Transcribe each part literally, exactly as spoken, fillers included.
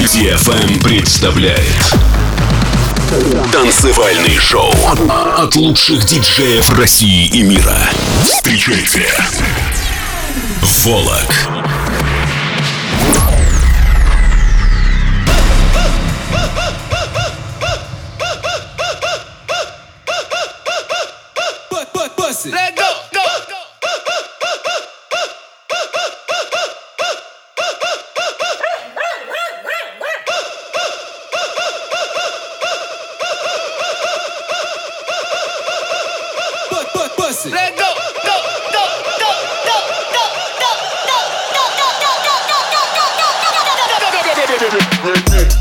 ди эф эм представляет танцевальный шоу от лучших диджеев России и мира. Встречайте, Волок. Let go, go, go. Let go, go, go, go, go, go, go, go, go, go, go.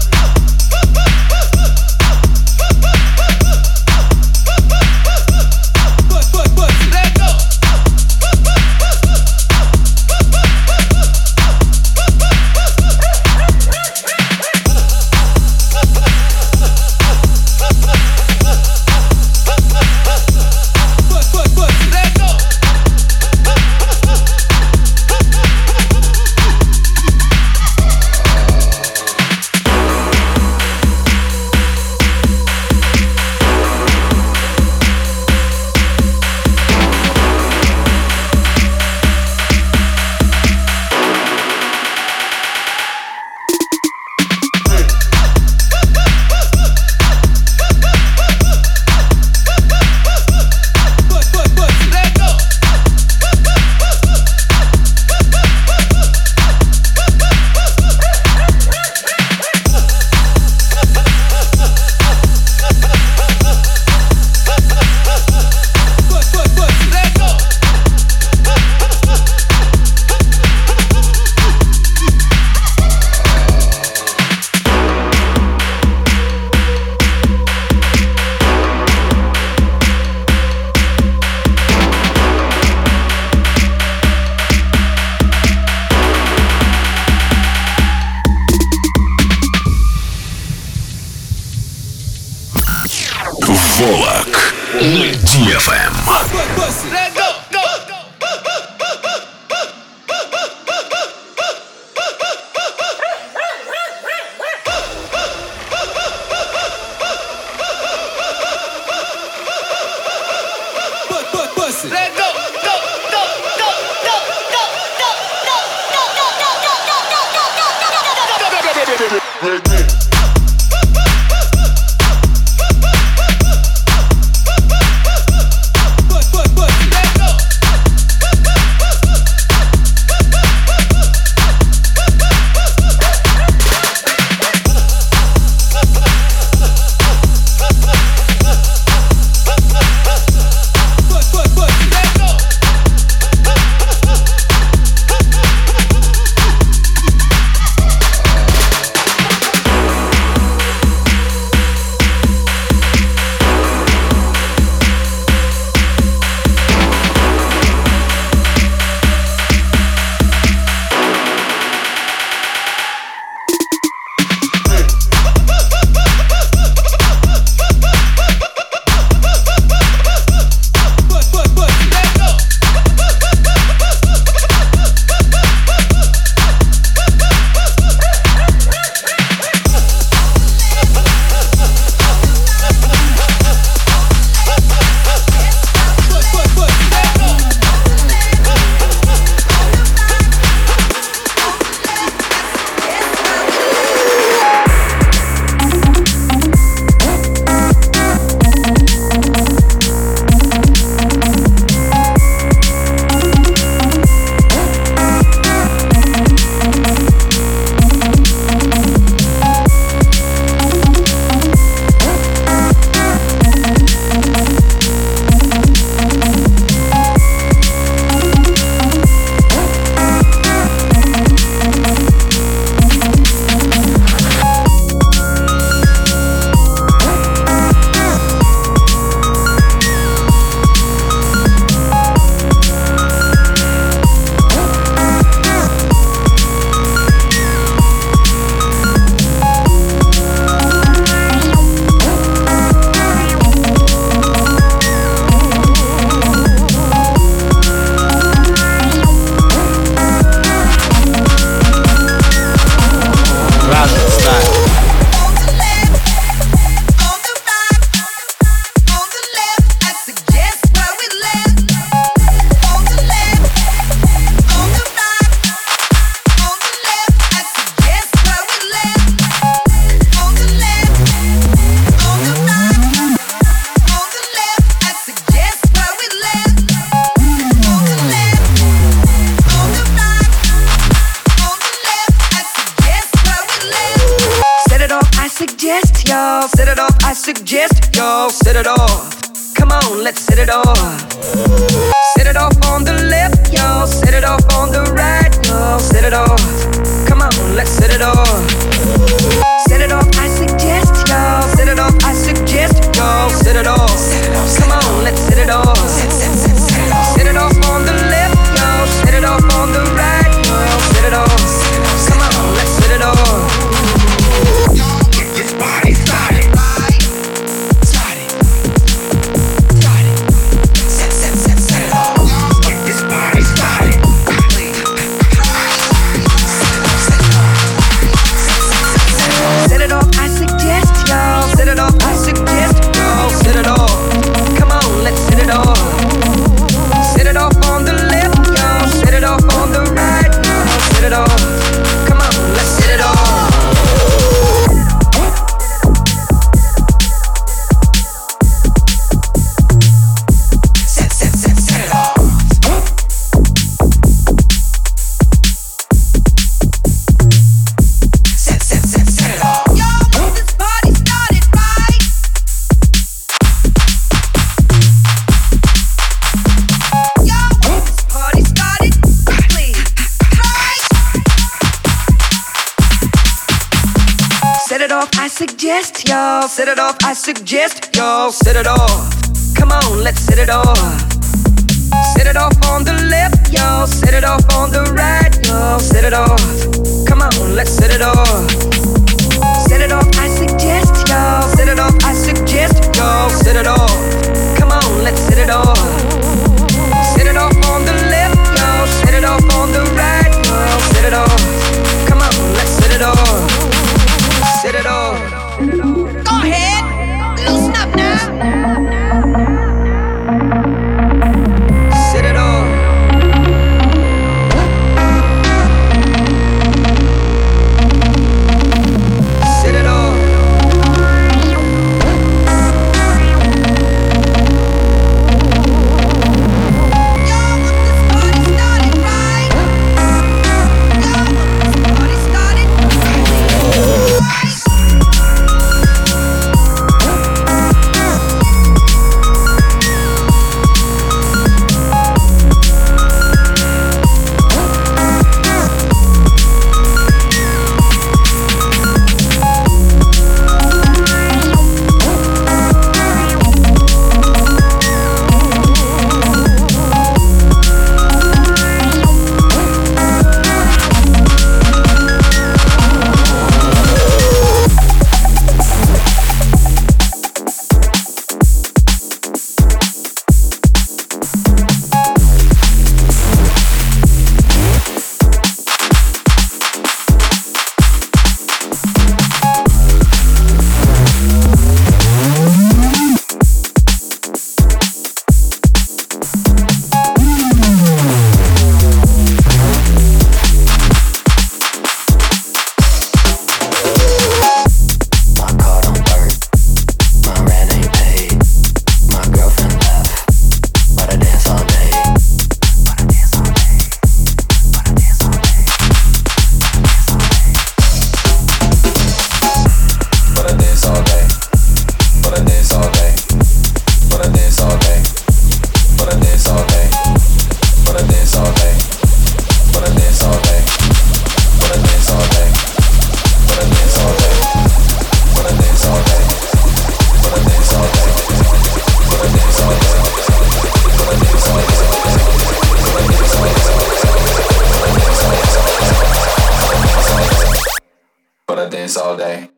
Волок на ди эф эм. Let go, go. Let go, go, go, go, go, go, go, go, go, go, go. suggest y'all set it off. Come on, let's set it off. Set it off on the left, y'all. Set it off on the right, y'all. Set it off. Come on, let's set it off. Set it off, I suggest y'all. Set it off, I suggest y'all. Set it off. Come on, let's set it off. Set it off on the left, y'all. Set it off on the right, y'all. Set it off. Come on, let's set it off. Get this party started. Started. Started. Set, set, set, set it off. Get this party started. Set it off, I suggest y'all. Set it off, I suggest y'all. Set it off. Come on, let's set it off. Set it off on the left, y'all. Set it off on the right, y'all. Set it off. Come on, let's set it off. Set, set, set, set it off. Set, set, set, set it off. Yo, this party started, right? Yo, this party started, please, right? Set it off, I suggest y'all. Set it off, I suggest y'all. Set it off. Come on, let's set it off. Set it off on the left, y'all. Set it off on the right, y'all. Set it off. Come on, let's set it off. Set it off, I suggest y'all. Set it off, I suggest y'all. Set it off. Come on, let's set it off. Set it off on the left, y'all. Set it off on the right, y'all. Set it off. Come on, let's set it off. Set it off. Go ahead, loosen up now. Set it off. Set it off. Yo, this party started, right? Yo, this party started, right? dance all day.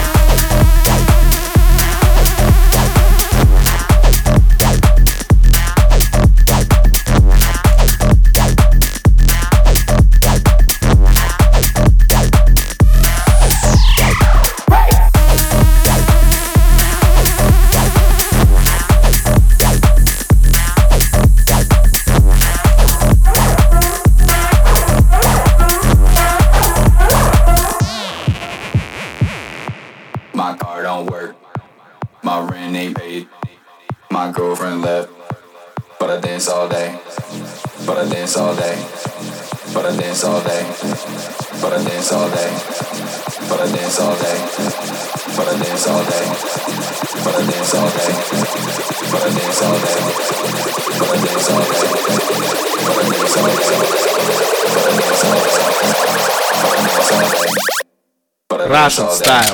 My car don't work, my rent ain't paid, my girlfriend left, but I dance all day, but I dance all day, but I dance all day, but I dance all day, but I dance all day, but I dance all day, but I dance all day, but I dance all day, but I dance all day, but I dance all day, but I dance all day, but I dance all day, but I dance all day. Russian style.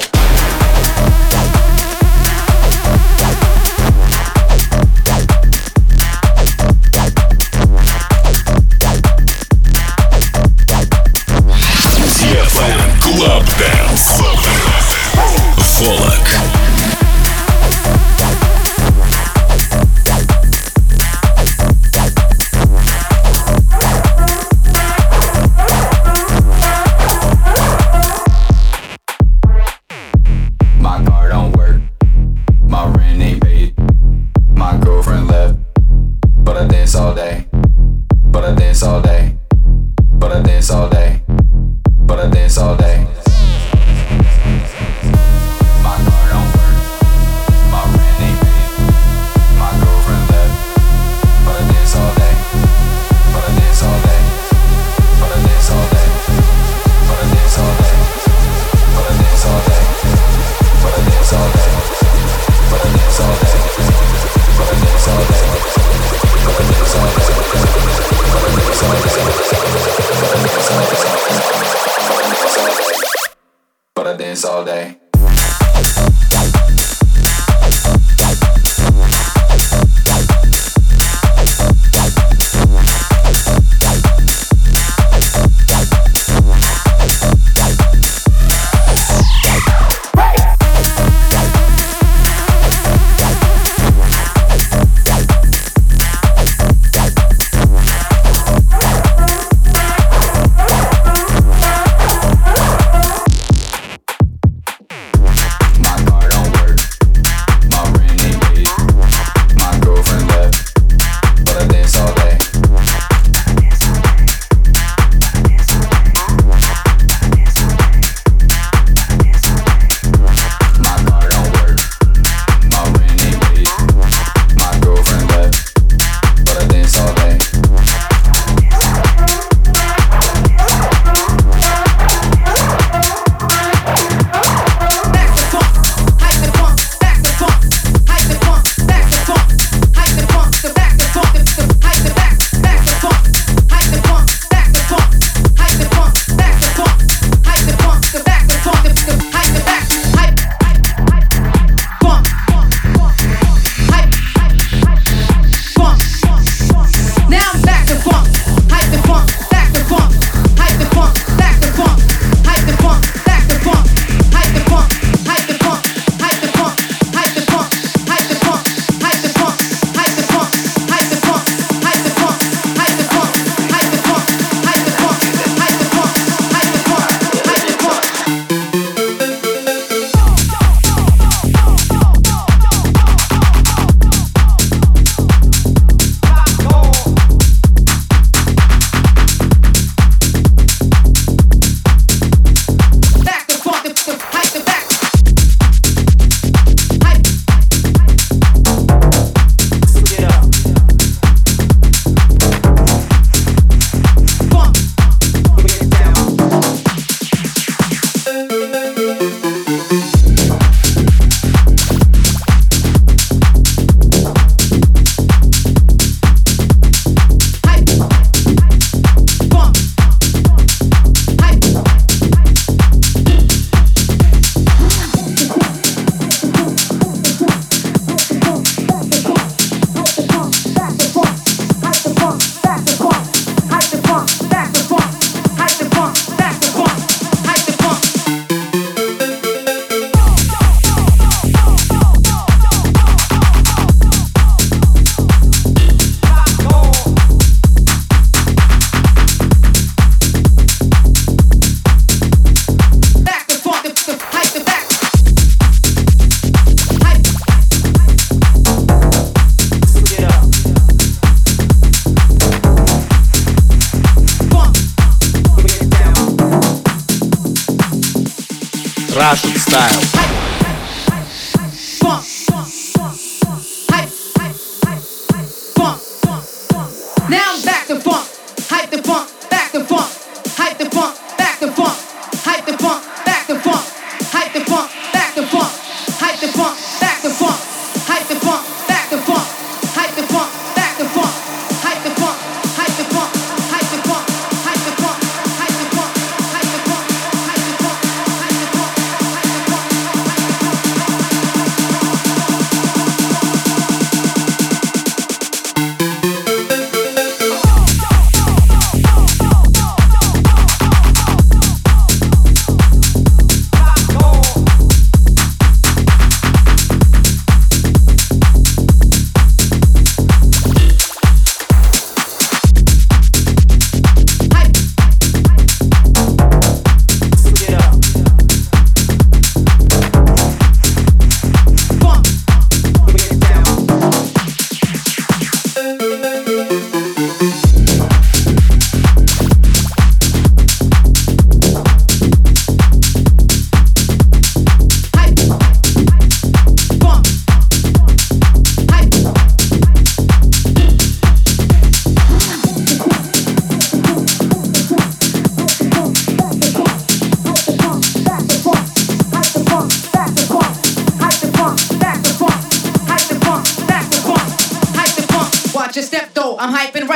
Club Dance. Фолок. My car don't work, my rent ain't paid, my girlfriend left, but I dance all day, but I dance all day, but I dance all day, but I dance all day. My car don't work, my rent ain't paid, my girlfriend left, but I dance all day, but I dance all day, but I dance all day, but I dance all day, but I dance all day. But I dance all day, but I dance all day, but I dance all day, but I dance all day, but I dance all day, but I dance all day, but I dance all day. Russian style. Now I'm back to funk, hype the funk, back to funk.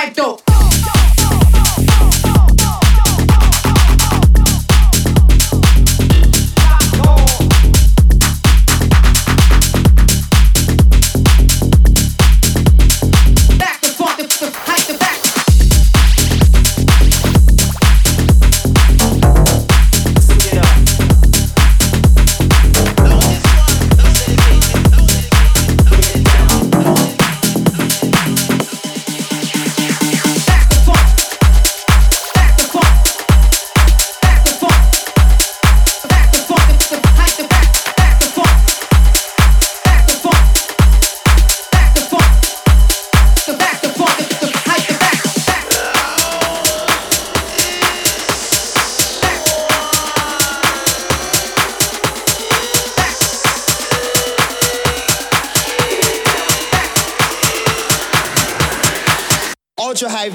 right though. Ultra high.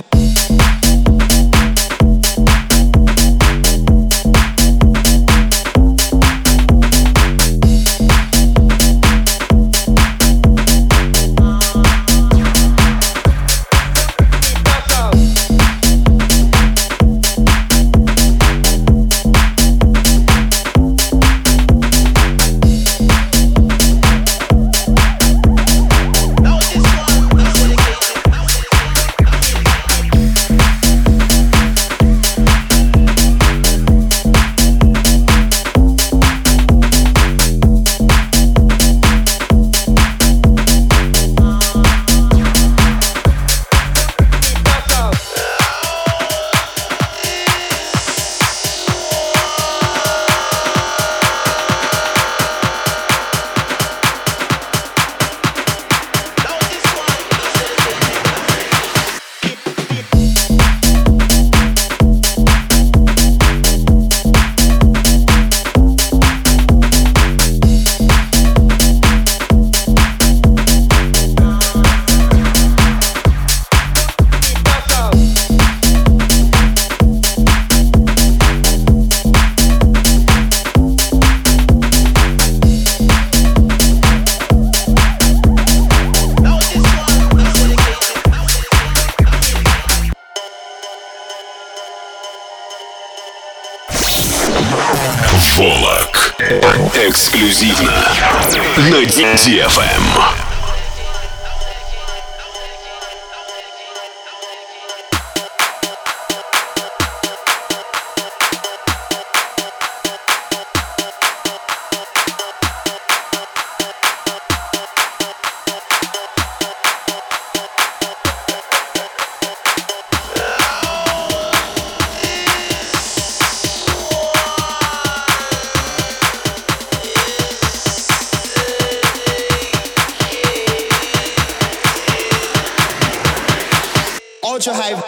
Волок. Эксклюзивно на ди эф эм. Ultra high.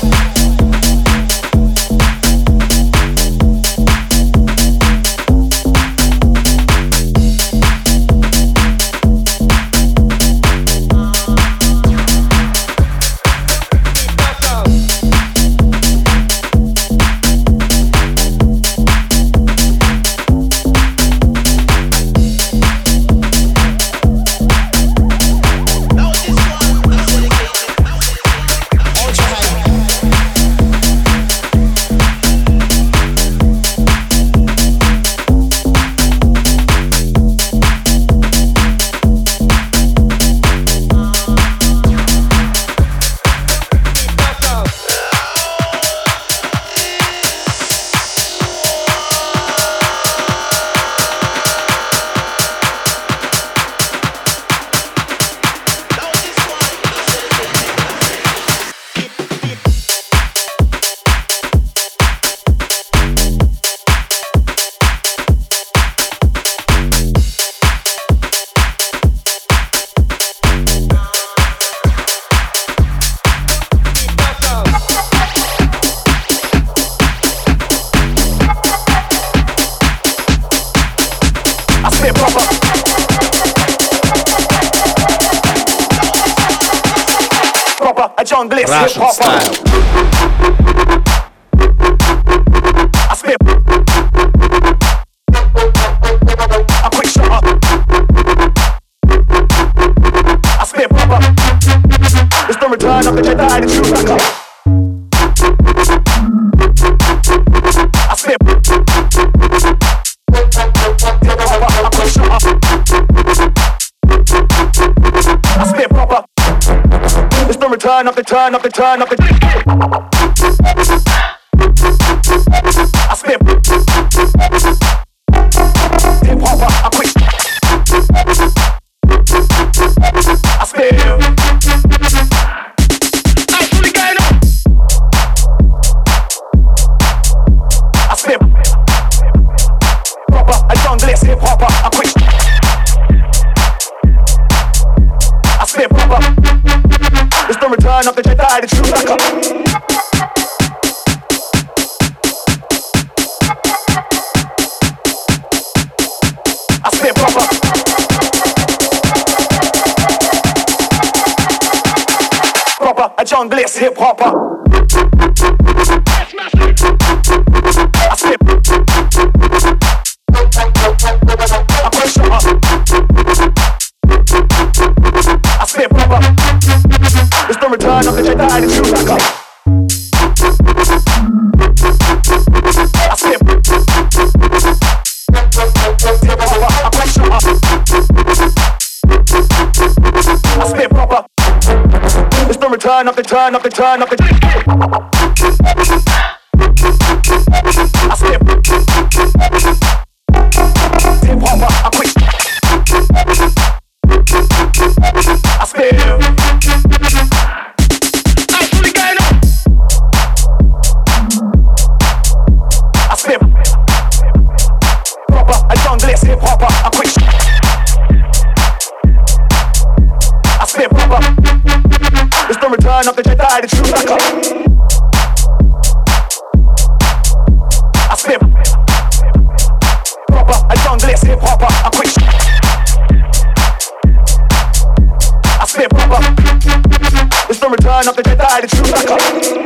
Russian style. I spit a quick shot up. I spit proper. It's the return of the Jedi, the true backup. turn up the turn up the turn up the. I spit. Hip hop, I quit. I spit. I fully going up. I spit. Proper, a junglist hip hop, I quit. I spit proper. It's the return of the Jedi, the true backup. I spit proper. Proper, a junglist hip hopper. I spit. I push up. I spit proper. It's the return of the Jedi, the true backup. I spit. Hip hopper, I push up. I spit proper. It's the return of the turn of the turn of the. I spit. Hip hopper, I quit. I spit. I fully going up. I spit. Proper, a junglist hip hopper, I quit. I spit proper. It's the return of the Jedi, the true backup. I spit. Proper, a junglist hip hopper, I quit. I spit proper. It's the return of the Jedi, the true backup.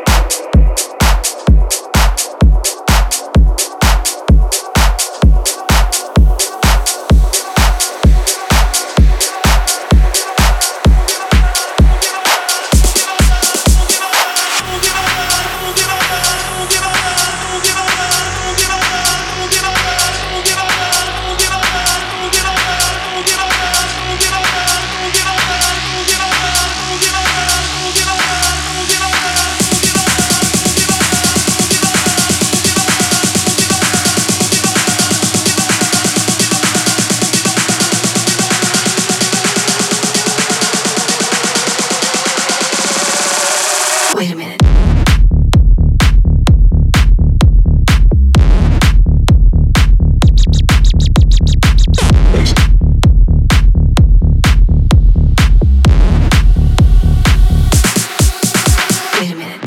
Wait a minute. Wait a minute.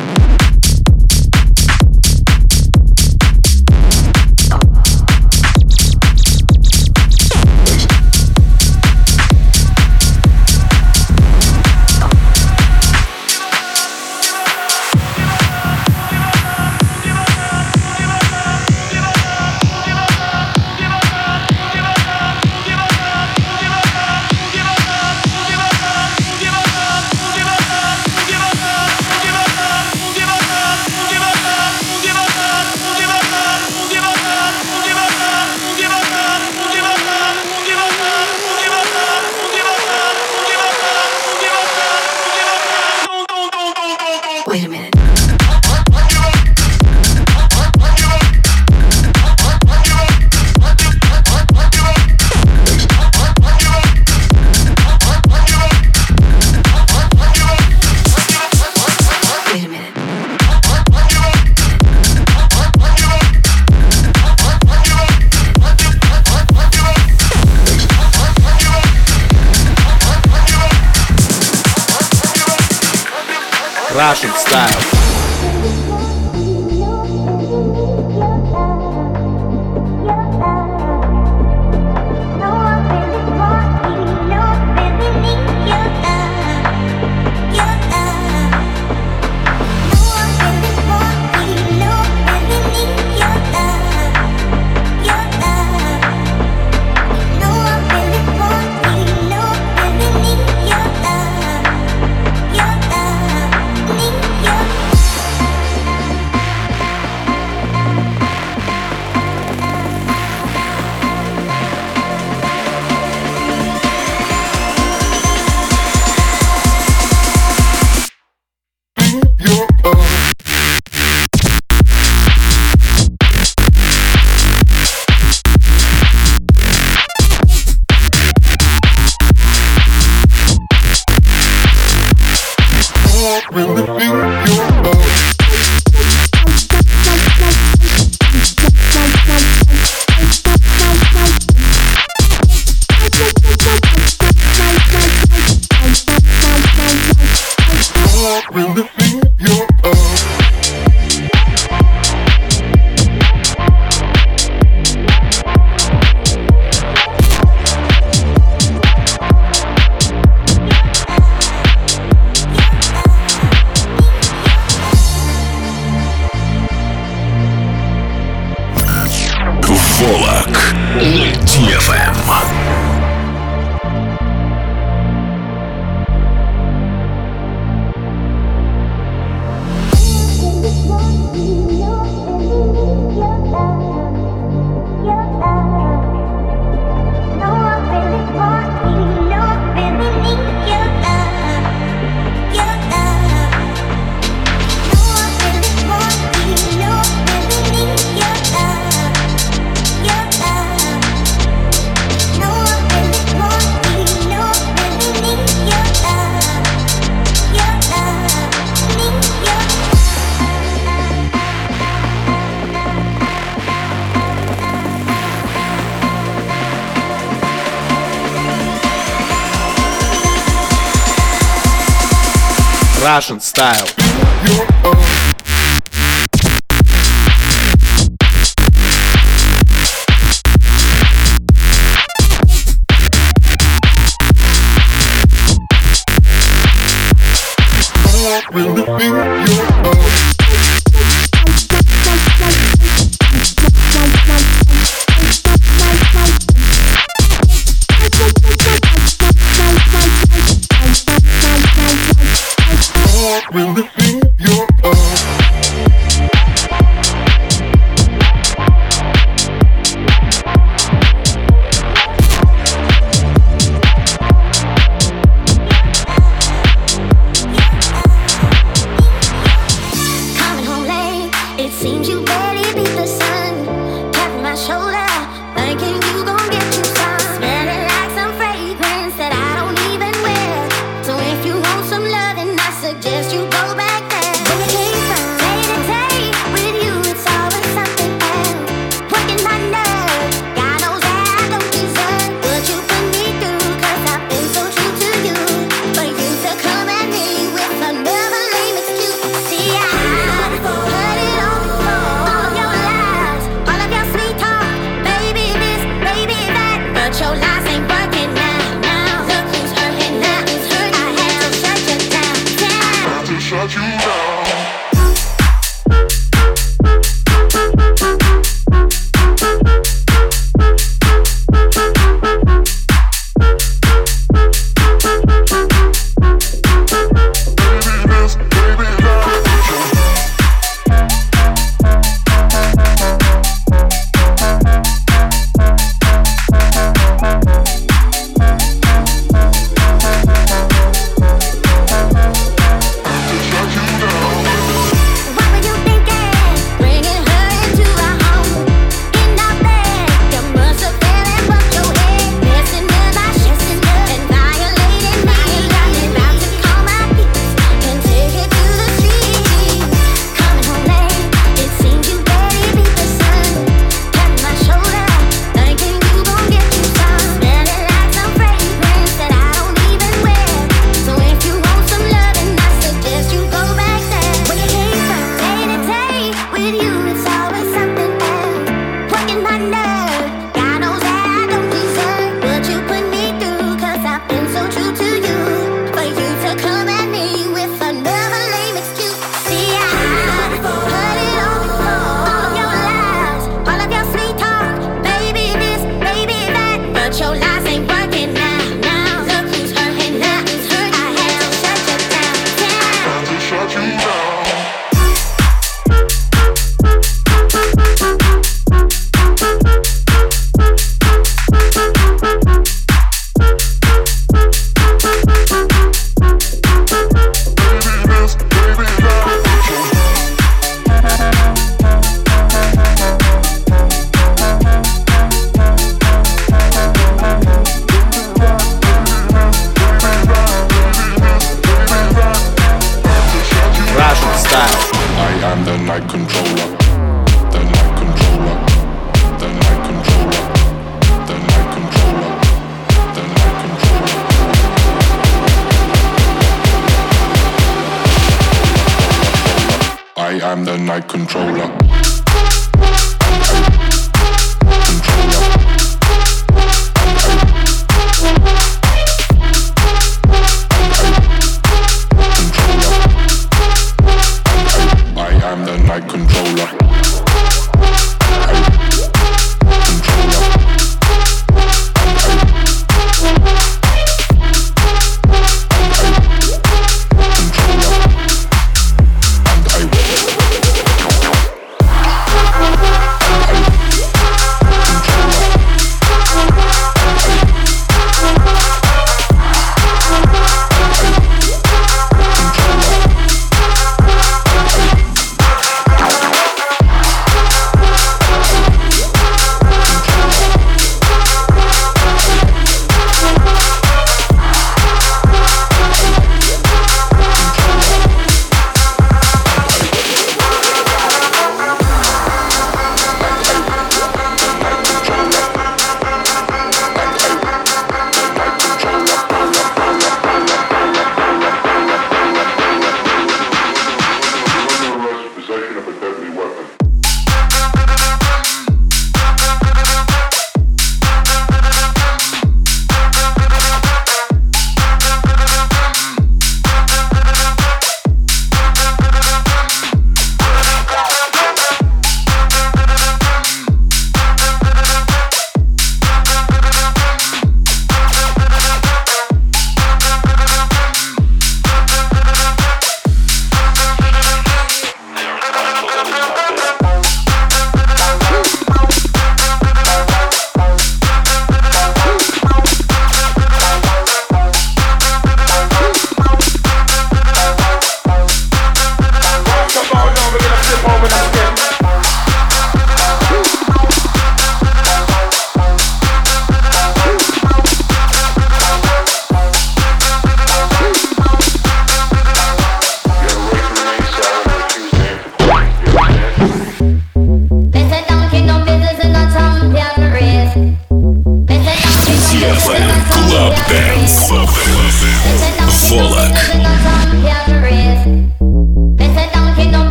Wait a minute. Wait a minute. Russian style. Your love, need your Волок на ди эф эм. Russian style. Controller.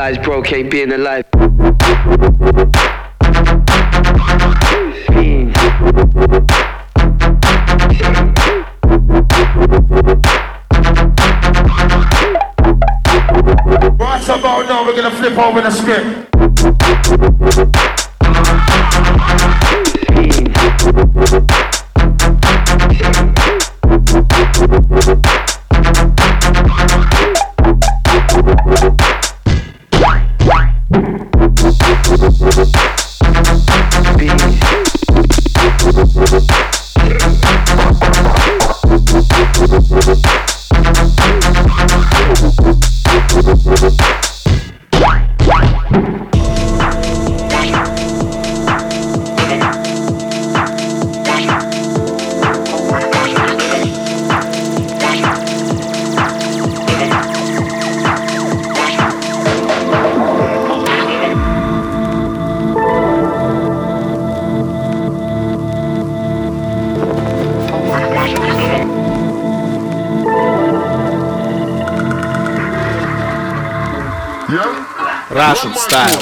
realize broke ain't being alive. Fiends. Right about now, we're gonna flip over the script. Russian style.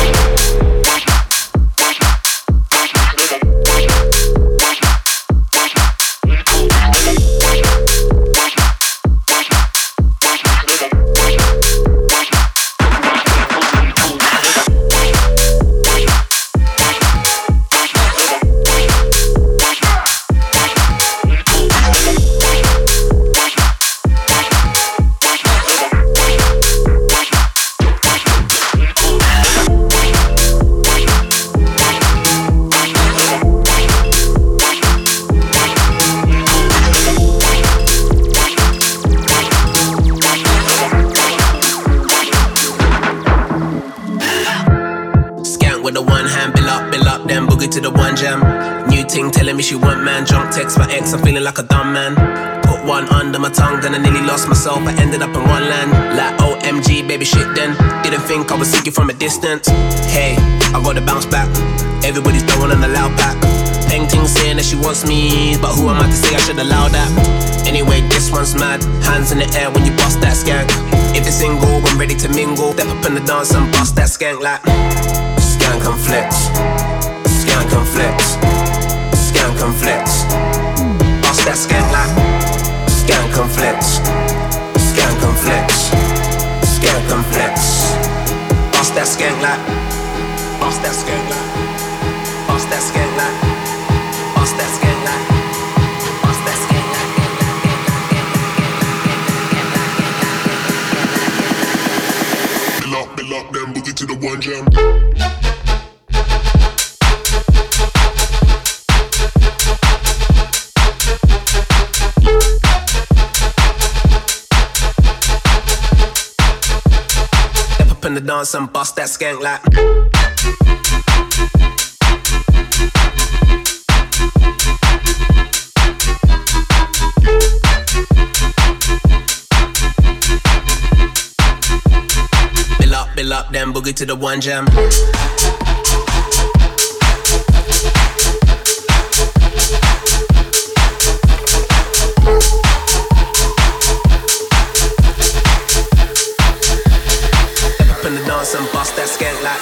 To the one jam, new ting telling me she want man. Drunk text my ex, I'm feeling like a dumb man. Put one under my tongue, then I nearly lost myself. I ended up in one land, like O M G, baby shit. Then didn't think I would see you from a distance. Hey, I gotta bounce back. Everybody's throwing on the loud pack. Painting saying that she wants me, but who am I to say I should allow that? Anyway, this one's mad. Hands in the air when you bust that skank. If it's single, I'm ready to mingle. Step up in the dance and bust that skank like skank and flex. Skank and flex, skank and flex. Bust that skank like skank and flex, skank and flex, skank and flex. Bust that skank like, bust that skank like, bust that skank like, bust that skank like, bust that skank like. Bill up, bill up, then boogie to the one jam. In the dance and bust that skank like bill up, bill up, then boogie to the one jam. And bust that skank like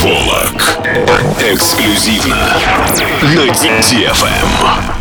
Волок. Эксклюзивно на ди ти эф эм.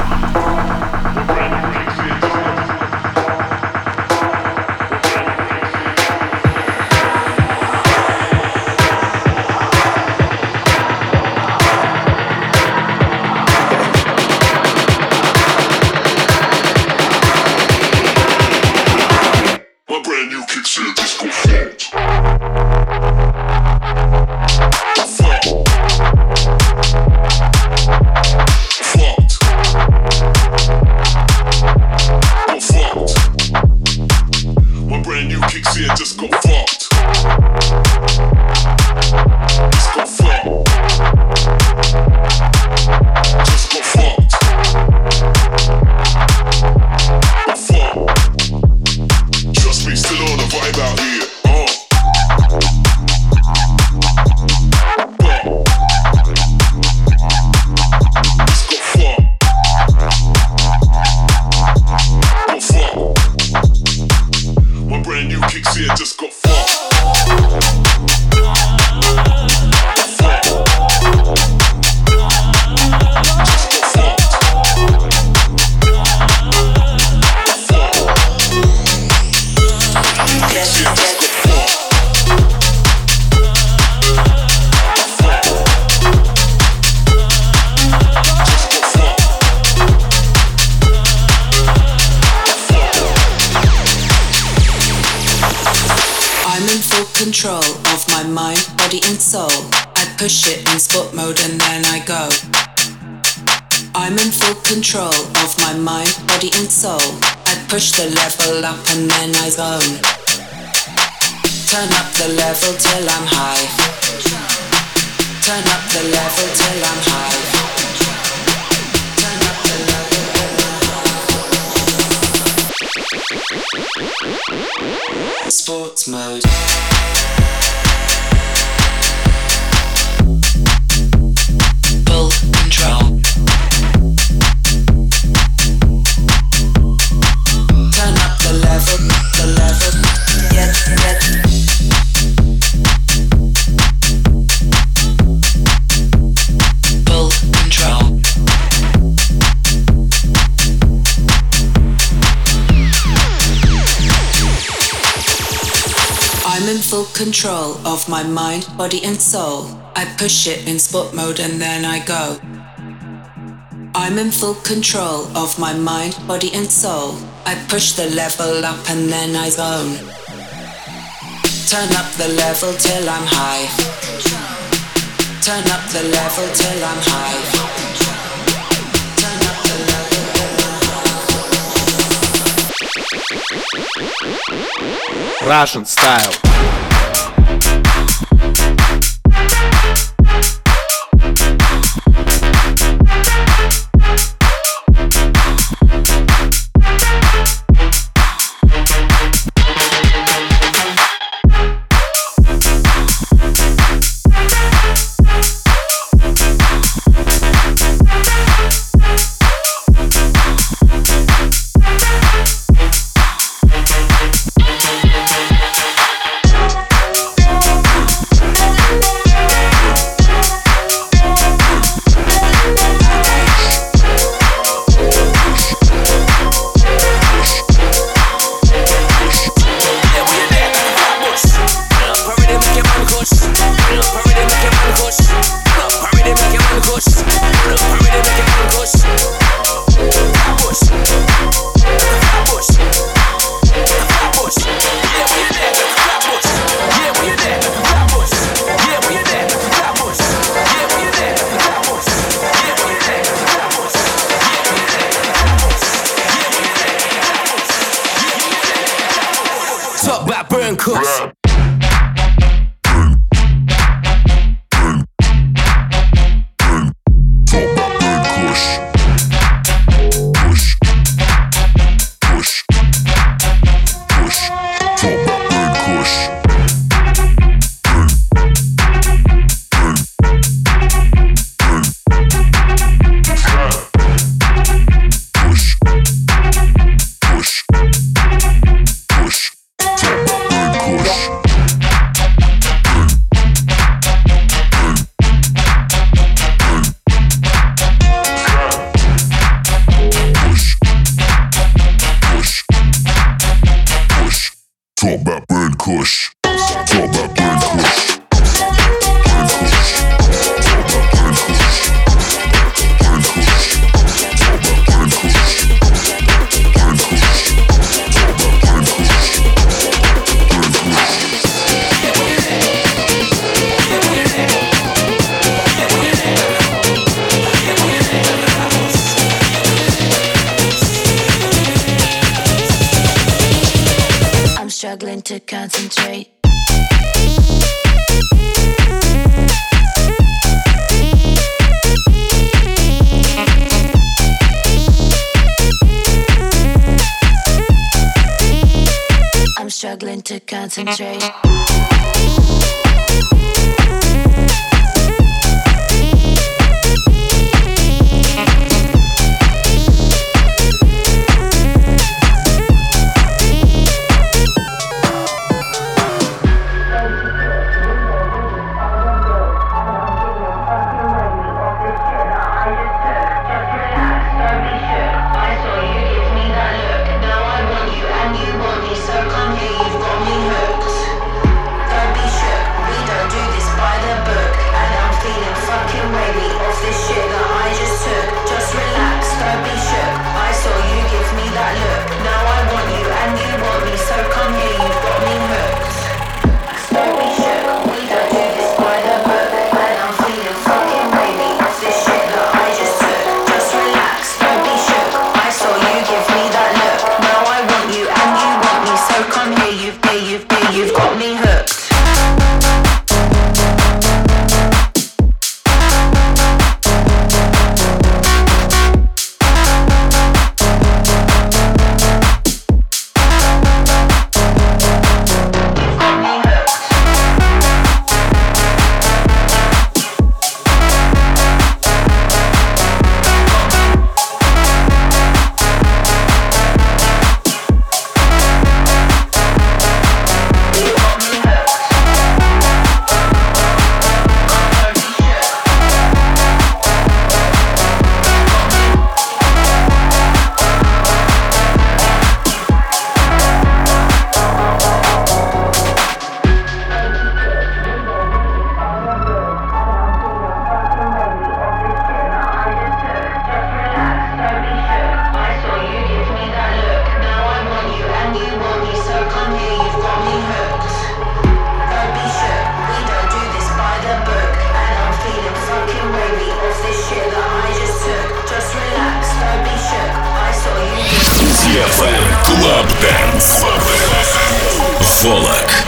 Control of my mind, body and soul. I push it in sport mode and then I go. I'm in full control of my mind, body and soul. I push the level up and then I zone. Turn up the level till I'm high. Turn up the level till I'm high. Turn up the level. Sports mode. Full control. Turn up the level, the level. Get, get. Full control. I'm in full control of my mind, body and soul. I push it in sport mode and then I go. I'm in full control of my mind, body and soul. I push the level up and then I zone. Turn up the level till I'm high. Turn up the level till I'm high. Turn up the level. Russian style. struggling to concentrate. I'm struggling to concentrate. Club Dance. Волок.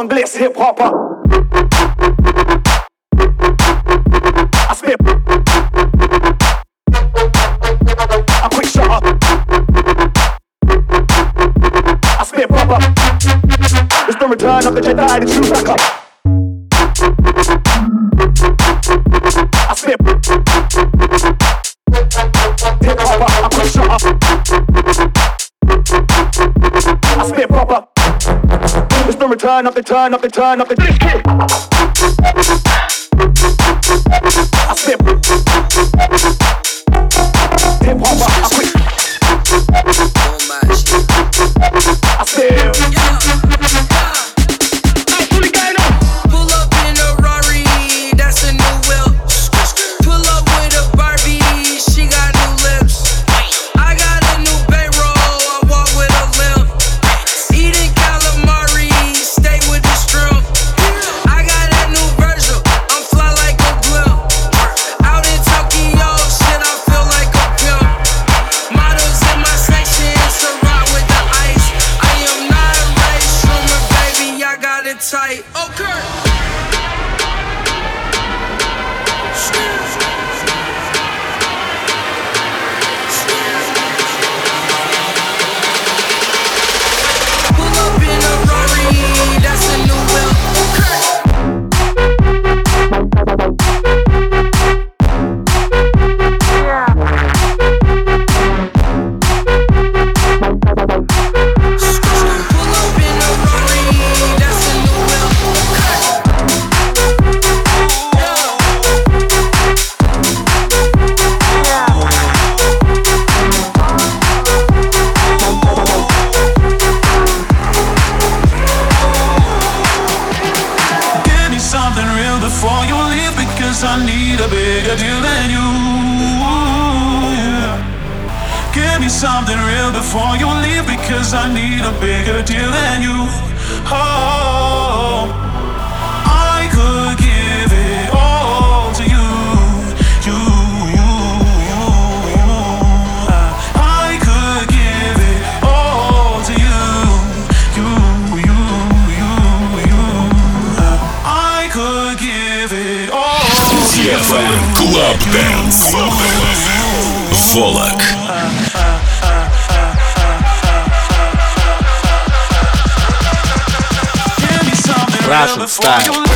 junglist hip hopper. I spit a quick shot. I spit proper. It's the return of the Jedi, the true backup. I spit hip hopper, a quick shot. I spit proper. It's the return of the turn of the turn of the disc kid. I spit hip hopper, I quit. I spit. Pull up in a Rari, that's a new whip. Pull up with a Barbie, she got new lips. I got a new bankroll, I walk with a limp. Eating calamari, stay with the shrimp. I got a new Virgil, I'm fly like a blimp. Out in Tokyo, shit, I feel like a pimp. Models in my section, so rock with the ice. I am not a race rumor, baby, I got it tight. Okay. Pull up in a Rari, that's a new whip. Pull up in a Rari, that's a new whip. Give me something real before you leave, because I need a bigger deal than you. Yeah. Give me something real before you leave, because I need a bigger deal than you. Oh, I could give it all to you. You, you, you, you. I could give it all to you. You, you, you, you. I could give it all to you. ди эф эм Club Dance. Волок. Russian style.